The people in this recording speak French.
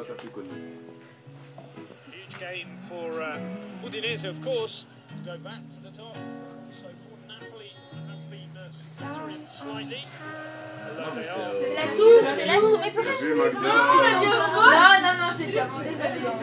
pas sa plus connue. Huge game for Udinese, of course, to go back to the top. So for Napoli, have been stuttering slightly. C'est la soupe, mais pas. J'ai vu Magda. Non, c'est déjà bon, désolé.